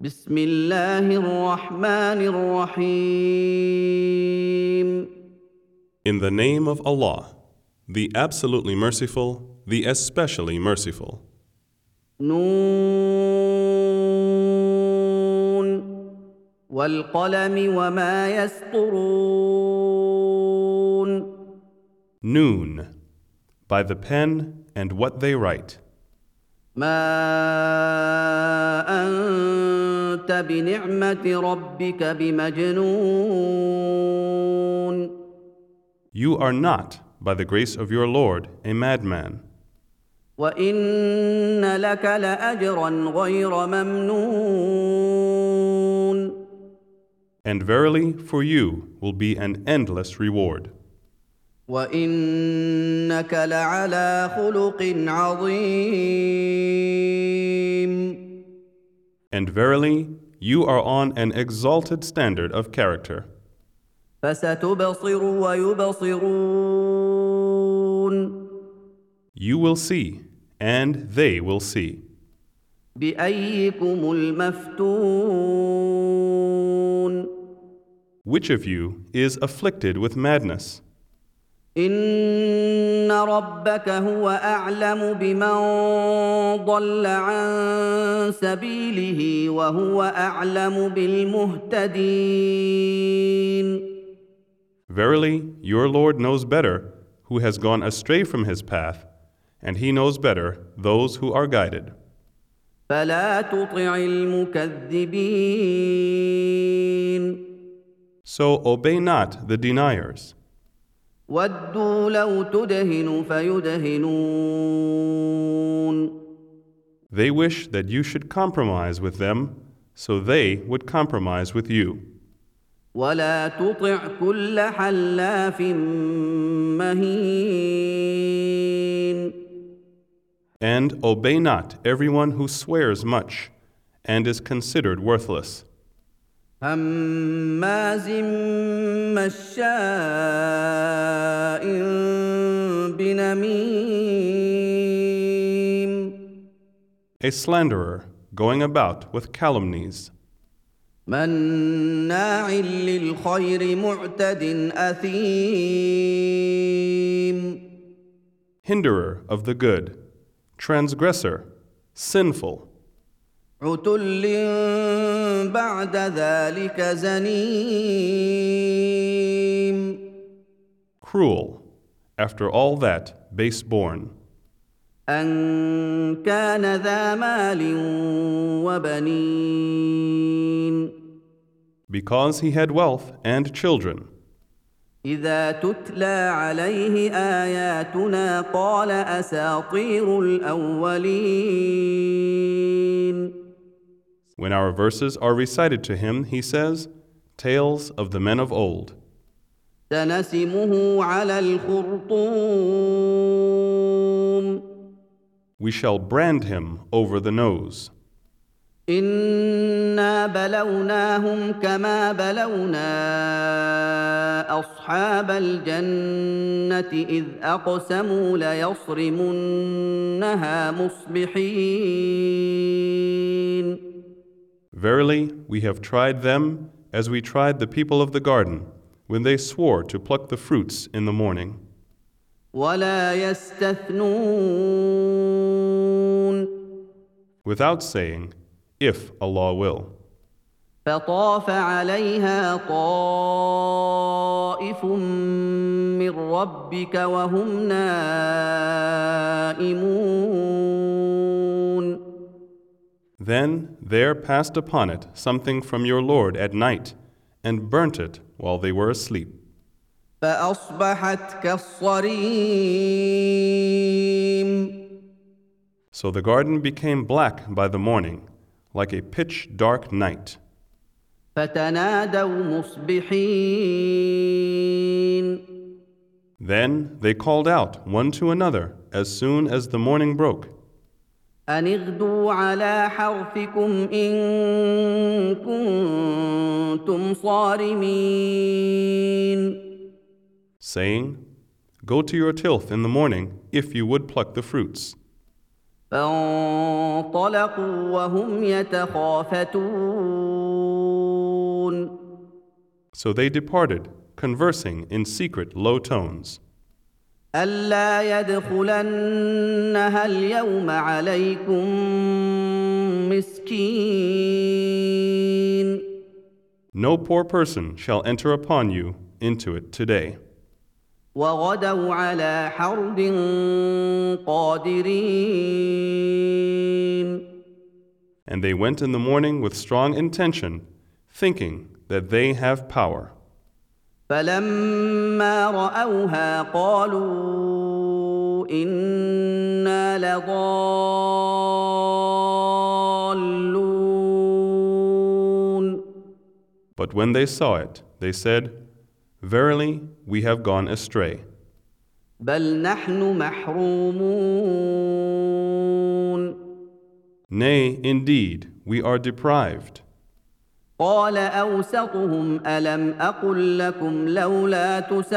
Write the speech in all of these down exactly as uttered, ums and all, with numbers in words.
بسم الله الرحمن الرحيم. In the name of Allah, the absolutely merciful, the especially merciful. نون والقلم وما يسطرون. Noon, by the pen and what they write. ما أنت بنعمة ربك بمجنون. You are not, by the grace of your Lord, a madman. وإن لك لأجرا غير ممنون. And verily, for you will be an endless reward. وإنك لعلى خلق عظيم. And verily, you are on an exalted standard of character. فستبصر ويبصرون. You will see, and they will see. بأيكم المفتون. Which of you is afflicted with madness? إن ربك هو أعلم بمن ضل عن سبيله وهو أعلم بالمهتدين. Verily, your Lord knows better who has gone astray from his path, and he knows better those who are guided. فلا تطع المكذبين. So obey not the deniers. ودوا لو تدهن فيدهنون. They wish that you should compromise with them, so they would compromise with you. ولا تطع كل حلاف مهين. And obey not everyone who swears much and is considered worthless. هماز مشاء بنميم. A slanderer going about with calumnies. مناع للخير معتد أثيم. Hinderer of the good, transgressor, sinful. عتل بعد ذلك زنيم. Cruel, after all that, base-born. أن كان ذا مال وبنين. Because he had wealth and children. إذا تتلى عليه آياتنا قال أساطير الأولين. When our verses are recited to him, he says, tales of the men of old. سنسمه على الخرطوم. We shall brand him over the nose. إنا بلوناهم كما بلونا أصحاب الجنة إذ أقسموا ليصرمنها مصبحين. Verily, we have tried them as we tried the people of the garden when they swore to pluck the fruits in the morning. ولا يستثنون. Without saying, if Allah will. فطاف عليها طائف من ربك وهم نائمون. Then there passed upon it something from your Lord at night, and burnt it while they were asleep. فأصبحت كالصريم. So the garden became black by the morning, like a pitch-dark night. فتنادوا مصبحين. Then they called out one to another as soon as the morning broke. أن اغدوا على حرثكم إن كنتم صارمين. Saying, go to your tilth in the morning if you would pluck the fruits. فانطلقوا وهم يتخافتون So they departed, conversing in secret low tones. ألا يدخلنها اليوم عليكم مسكين No poor person shall enter upon you into it today. وغدوا على حرد قادرين And they went in the morning with strong intention, thinking that they have power. فلما رأوها قالوا إنا لضالون But when they saw it, they said, Verily, we have gone astray. بل نحن محرومون Nay, indeed, we are deprived. قال أوسطهم ألم أقل لكم لولا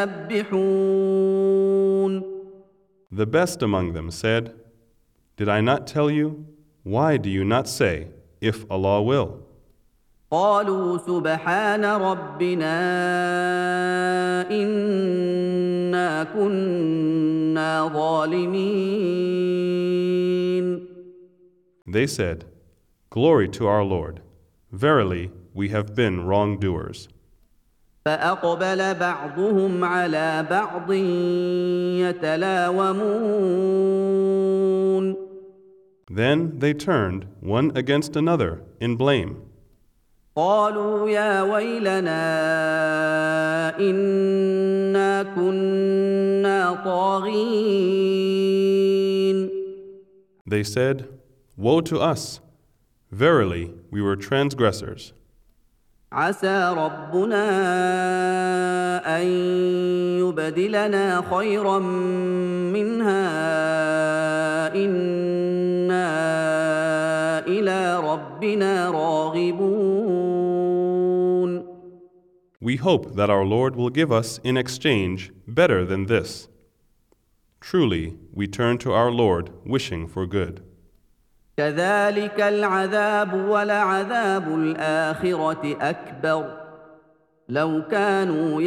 تسبحون The best among them said, Did I not tell you? Why do you not say, if Allah will? قالوا سبحان ربنا إنا كنا ظالمين They said, Glory to our Lord. Verily, we have been wrongdoers. فأقبل بعضهم على بعض يتلاومون Then they turned one against another in blame. قالوا يا ويلنا إنا كنا طاغين They said, Woe to us! Verily, we were transgressors. عسى ربنا أن يبدلنا خيرا منها إنا إلى ربنا راغبون We hope that our Lord will give us in exchange better than this. Truly, we turn to our Lord wishing for good. كذلك العذاب ولعذاب الآخرة أكبر لو كانوا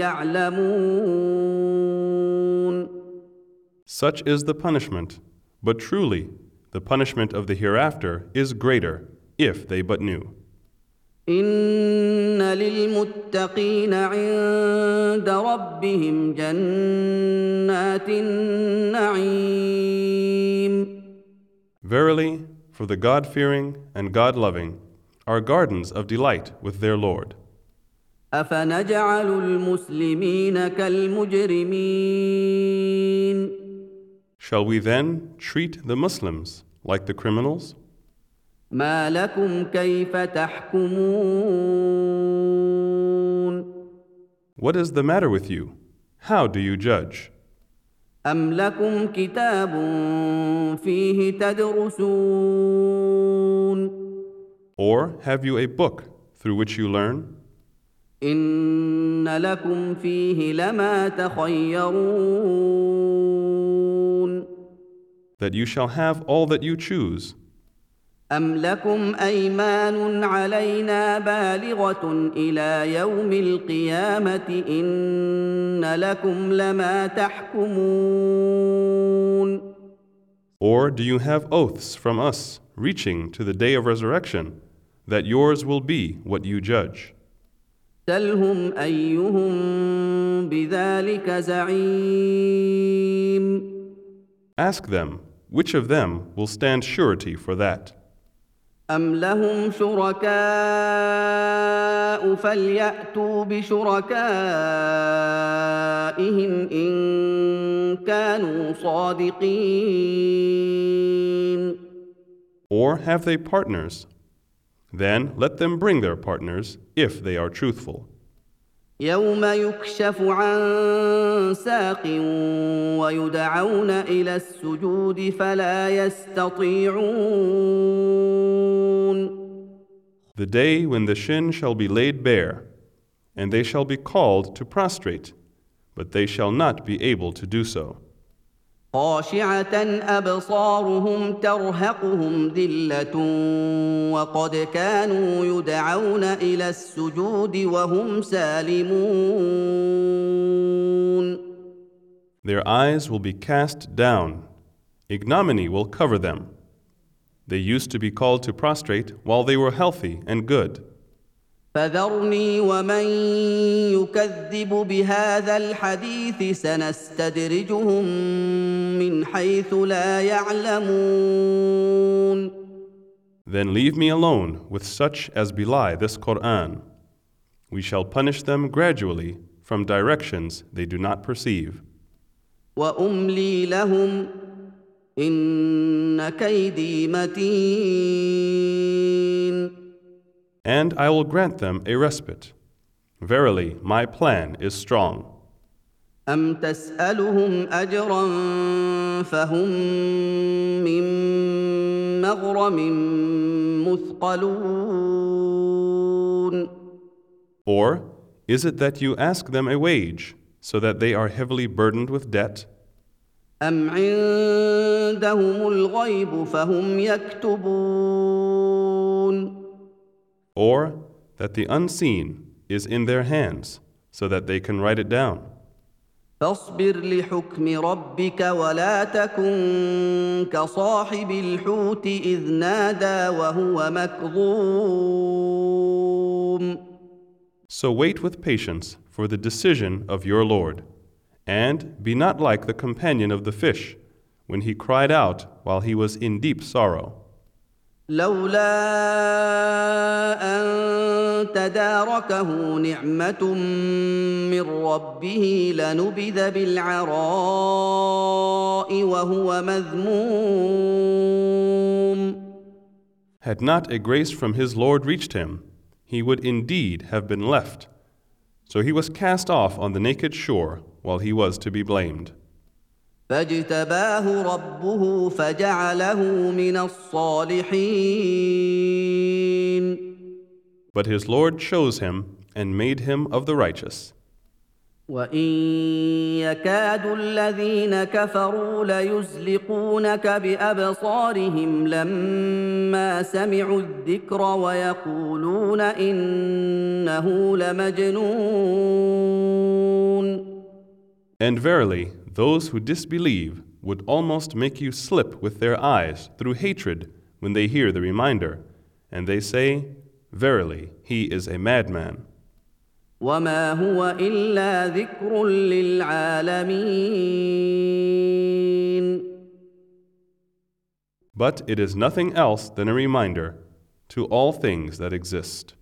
يعلمون Such is the punishment, but truly, the punishment of the hereafter is greater, if they but knew. إن للمتقين عند ربهم جنات النعيم Verily, for the God-fearing and God-loving are gardens of delight with their Lord. أفنجعل المسلمين كالمجرمين Shall we then treat the Muslims like the criminals? ما لكم كيف تحكمون What is the matter with you? How do you judge? أم لكم كتاب فيه تدرسون Or have you a book through which you learn? إن لكم فيه لما تخيرون That you shall have all that you choose. أم لكم أيمان علينا بالغة إلى يوم القيامة إن لكم لما تحكمون Or do you have oaths from us reaching to the day of resurrection that yours will be what you judge? سلهم أيهم بذلك زعيم Ask them, which of them will stand surety for that? أم لهم شركاء فليأتوا بشركائهم إن كانوا صادقين Or have they partners? Then let them bring their partners if they are truthful. يوم يكشف عن ساق ويدعون إلى السجود فلا يستطيعون The day when the shin shall be laid bare, and they shall be called to prostrate, but they shall not be able to do so. خاشعة أبصارهم ترهقهم ذلة وقد كانوا يدعون إلى السجود وهم سالمون. Their eyes will be cast down. Ignominy will cover them. They used to be called to prostrate while they were healthy and good. فذرني ومن يكذب بهذا الحديث سنستدرجهم من حيث لا يعلمون. Then leave me alone with such as belie this Qur'an. We shall punish them gradually from directions they do not perceive. وأملي لهم إن كيدي متين. And I will grant them a respite. Verily, my plan is strong. أم تسألهم أجرا فهم من مغرم مثقلون. Or is it that you ask them a wage, so that they are heavily burdened with debt? أم عندهم الغيب فهم يكتبون. Or that the unseen is in their hands, so that they can write it down? فاصبر لحكم ربك ولا تكن كصاحب الحوت إذ نادى وهو مكظوم. So wait with patience for the decision of your Lord, and be not like the companion of the fish, when he cried out while he was in deep sorrow. لولا أن تداركه نعمة من ربه لنبذ بالعراء وهو مذموم. Had not a grace from his Lord reached him, he would indeed have been left. So he was cast off on the naked shore while he was to be blamed. فاجتباه ربه فجعله من الصالحين. But his Lord chose him and made him of the righteous. وإن يكاد الذين كفروا ليزلقونك بأبصارهم لما سمعوا الذكر ويقولون إنه لمجنون. And verily, those who disbelieve would almost make you slip with their eyes through hatred when they hear the reminder, and they say, Verily, he is a madman. وما هو إلا ذكر للعالمين. But it is nothing else than a reminder to all things that exist.